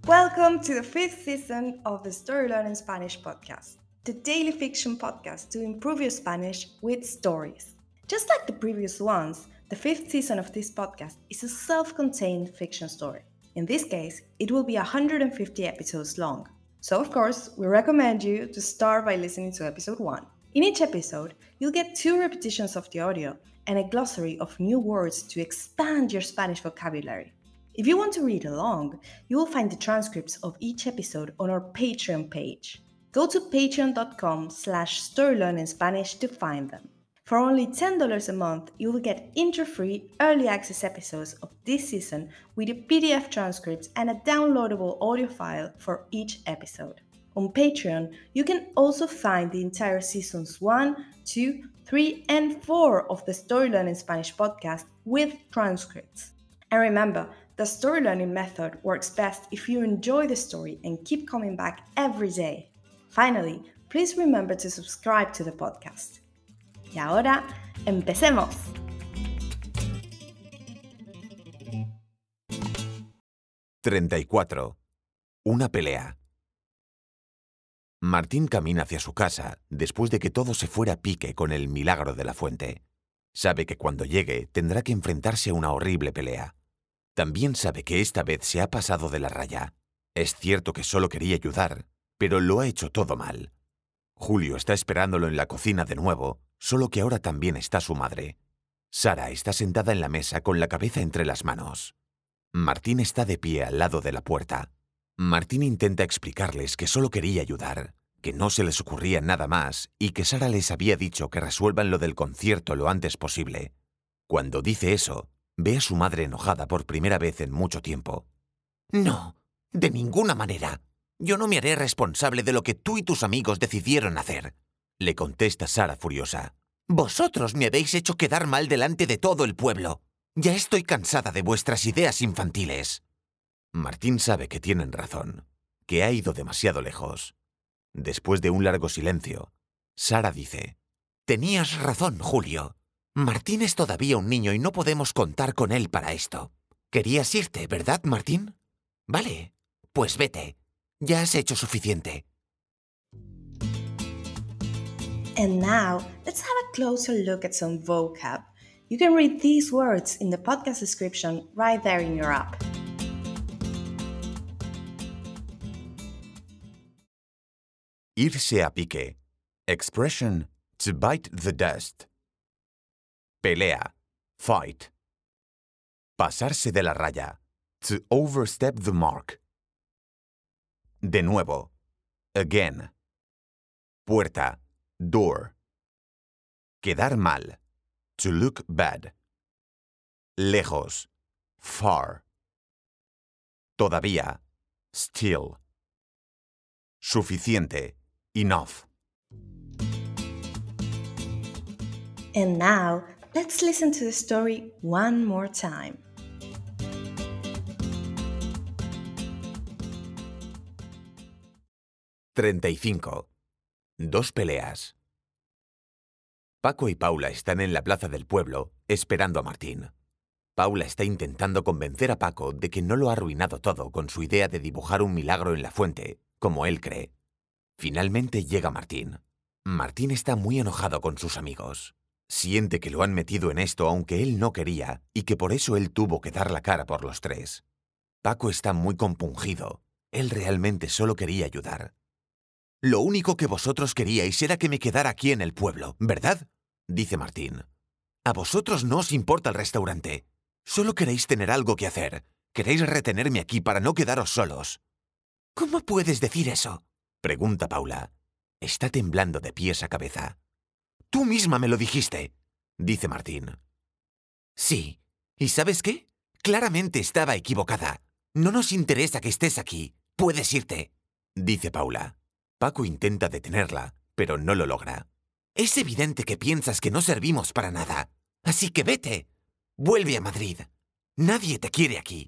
Welcome to the fifth season of the Story Learning Spanish podcast, the daily fiction podcast to improve your Spanish with stories. Just like the previous ones, the fifth season of this podcast is a self-contained fiction story. In this case, it will be 150 episodes long. So of course, we recommend you to start by listening to episode 1. In each episode, you'll get 2 repetitions of the audio and a glossary of new words to expand your Spanish vocabulary. If you want to read along, you will find the transcripts of each episode on our Patreon page. Go to patreon.com/storylearningspanish to find them. For only $10 a month, you will get intro-free early access episodes of this season with a PDF transcripts and a downloadable audio file for each episode. On Patreon, you can also find the entire seasons 1, 2, 3, and 4 of the Story Learning Spanish podcast with transcripts. And remember, the story learning method works best if you enjoy the story and keep coming back every day. Finally, please remember to subscribe to the podcast. Y ahora, ¡empecemos! ¡34! Una pelea. Martín camina hacia su casa después de que todo se fuera a pique con el milagro de la fuente. Sabe que cuando llegue tendrá que enfrentarse a una horrible pelea. También sabe que esta vez se ha pasado de la raya. Es cierto que solo quería ayudar, pero lo ha hecho todo mal. Julio está esperándolo en la cocina de nuevo, solo que ahora también está su madre. Sara está sentada en la mesa con la cabeza entre las manos. Martín está de pie al lado de la puerta. Martín intenta explicarles que solo quería ayudar, que no se les ocurría nada más y que Sara les había dicho que resuelvan lo del concierto lo antes posible. Cuando dice eso, ve a su madre enojada por primera vez en mucho tiempo. «No, de ninguna manera. Yo no me haré responsable de lo que tú y tus amigos decidieron hacer», le contesta Sara furiosa. «Vosotros me habéis hecho quedar mal delante de todo el pueblo. Ya estoy cansada de vuestras ideas infantiles». Martín sabe que tienen razón, que ha ido demasiado lejos. Después de un largo silencio, Sara dice: «Tenías razón, Julio. Martín es todavía un niño y no podemos contar con él para esto. Querías irte, ¿verdad, Martín? Vale, pues vete. Ya has hecho suficiente». And now, let's have a closer look at some vocab. You can read these words in the podcast description right there in your app. Irse a pique. Expression to bite the dust. Pelea. Fight. Pasarse de la raya. To overstep the mark. De nuevo. Again. Puerta. Door. Quedar mal. To look bad. Lejos. Far. Todavía. Still. Suficiente. Enough. And now, let's listen to the story one more time. «35. Dos peleas». Paco y Paula están en la plaza del pueblo, esperando a Martín. Paula está intentando convencer a Paco de que no lo ha arruinado todo con su idea de dibujar un milagro en la fuente, como él cree. Finalmente llega Martín. Martín está muy enojado con sus amigos. Siente que lo han metido en esto aunque él no quería y que por eso él tuvo que dar la cara por los tres. Paco está muy compungido. Él realmente solo quería ayudar. «Lo único que vosotros queríais era que me quedara aquí en el pueblo, ¿verdad?», dice Martín. «A vosotros no os importa el restaurante. Solo queréis tener algo que hacer. Queréis retenerme aquí para no quedaros solos». «¿Cómo puedes decir eso?», pregunta Paula. Está temblando de pies a cabeza. «Tú misma me lo dijiste», dice Martín. «Sí. ¿Y sabes qué? Claramente estaba equivocada. No nos interesa que estés aquí. Puedes irte», dice Paula. Paco intenta detenerla, pero no lo logra. «Es evidente que piensas que no servimos para nada. Así que vete. Vuelve a Madrid. Nadie te quiere aquí».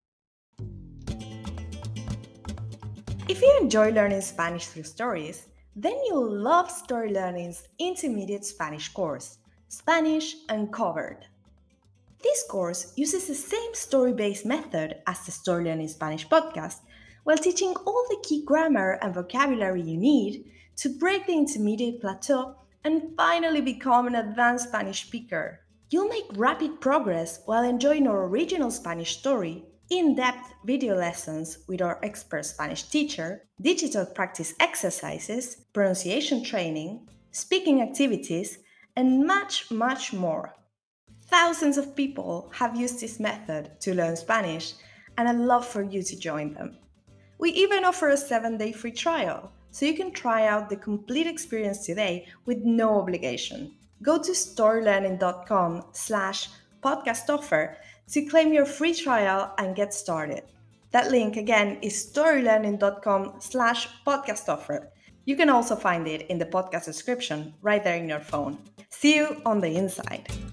If you enjoy learning Spanish through stories, then you'll love Story Learning's intermediate Spanish course, Spanish Uncovered. This course uses the same story-based method as the Story Learning Spanish podcast, while teaching all the key grammar and vocabulary you need to break the intermediate plateau and finally become an advanced Spanish speaker. You'll make rapid progress while enjoying our original Spanish story, in-depth video lessons with our expert Spanish teacher, digital practice exercises, pronunciation training, speaking activities, and much, much more. Thousands of people have used this method to learn Spanish, and I'd love for you to join them. We even offer a 7-day free trial, so you can try out the complete experience today with no obligation. Go to storylearning.com/podcast offer to claim your free trial and get started. That link again is storylearning.com/podcast offer. You can also find it in the podcast description right there in your phone. See you on the inside.